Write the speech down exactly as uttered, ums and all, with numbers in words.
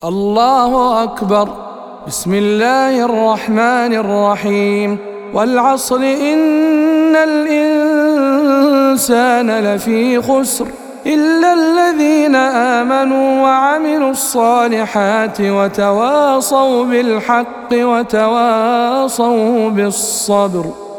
الله أكبر. بسم الله الرحمن الرحيم. والعصر إن الإنسان لفي خسر إلا الذين آمنوا وعملوا الصالحات وتواصوا بالحق وتواصوا بالصبر.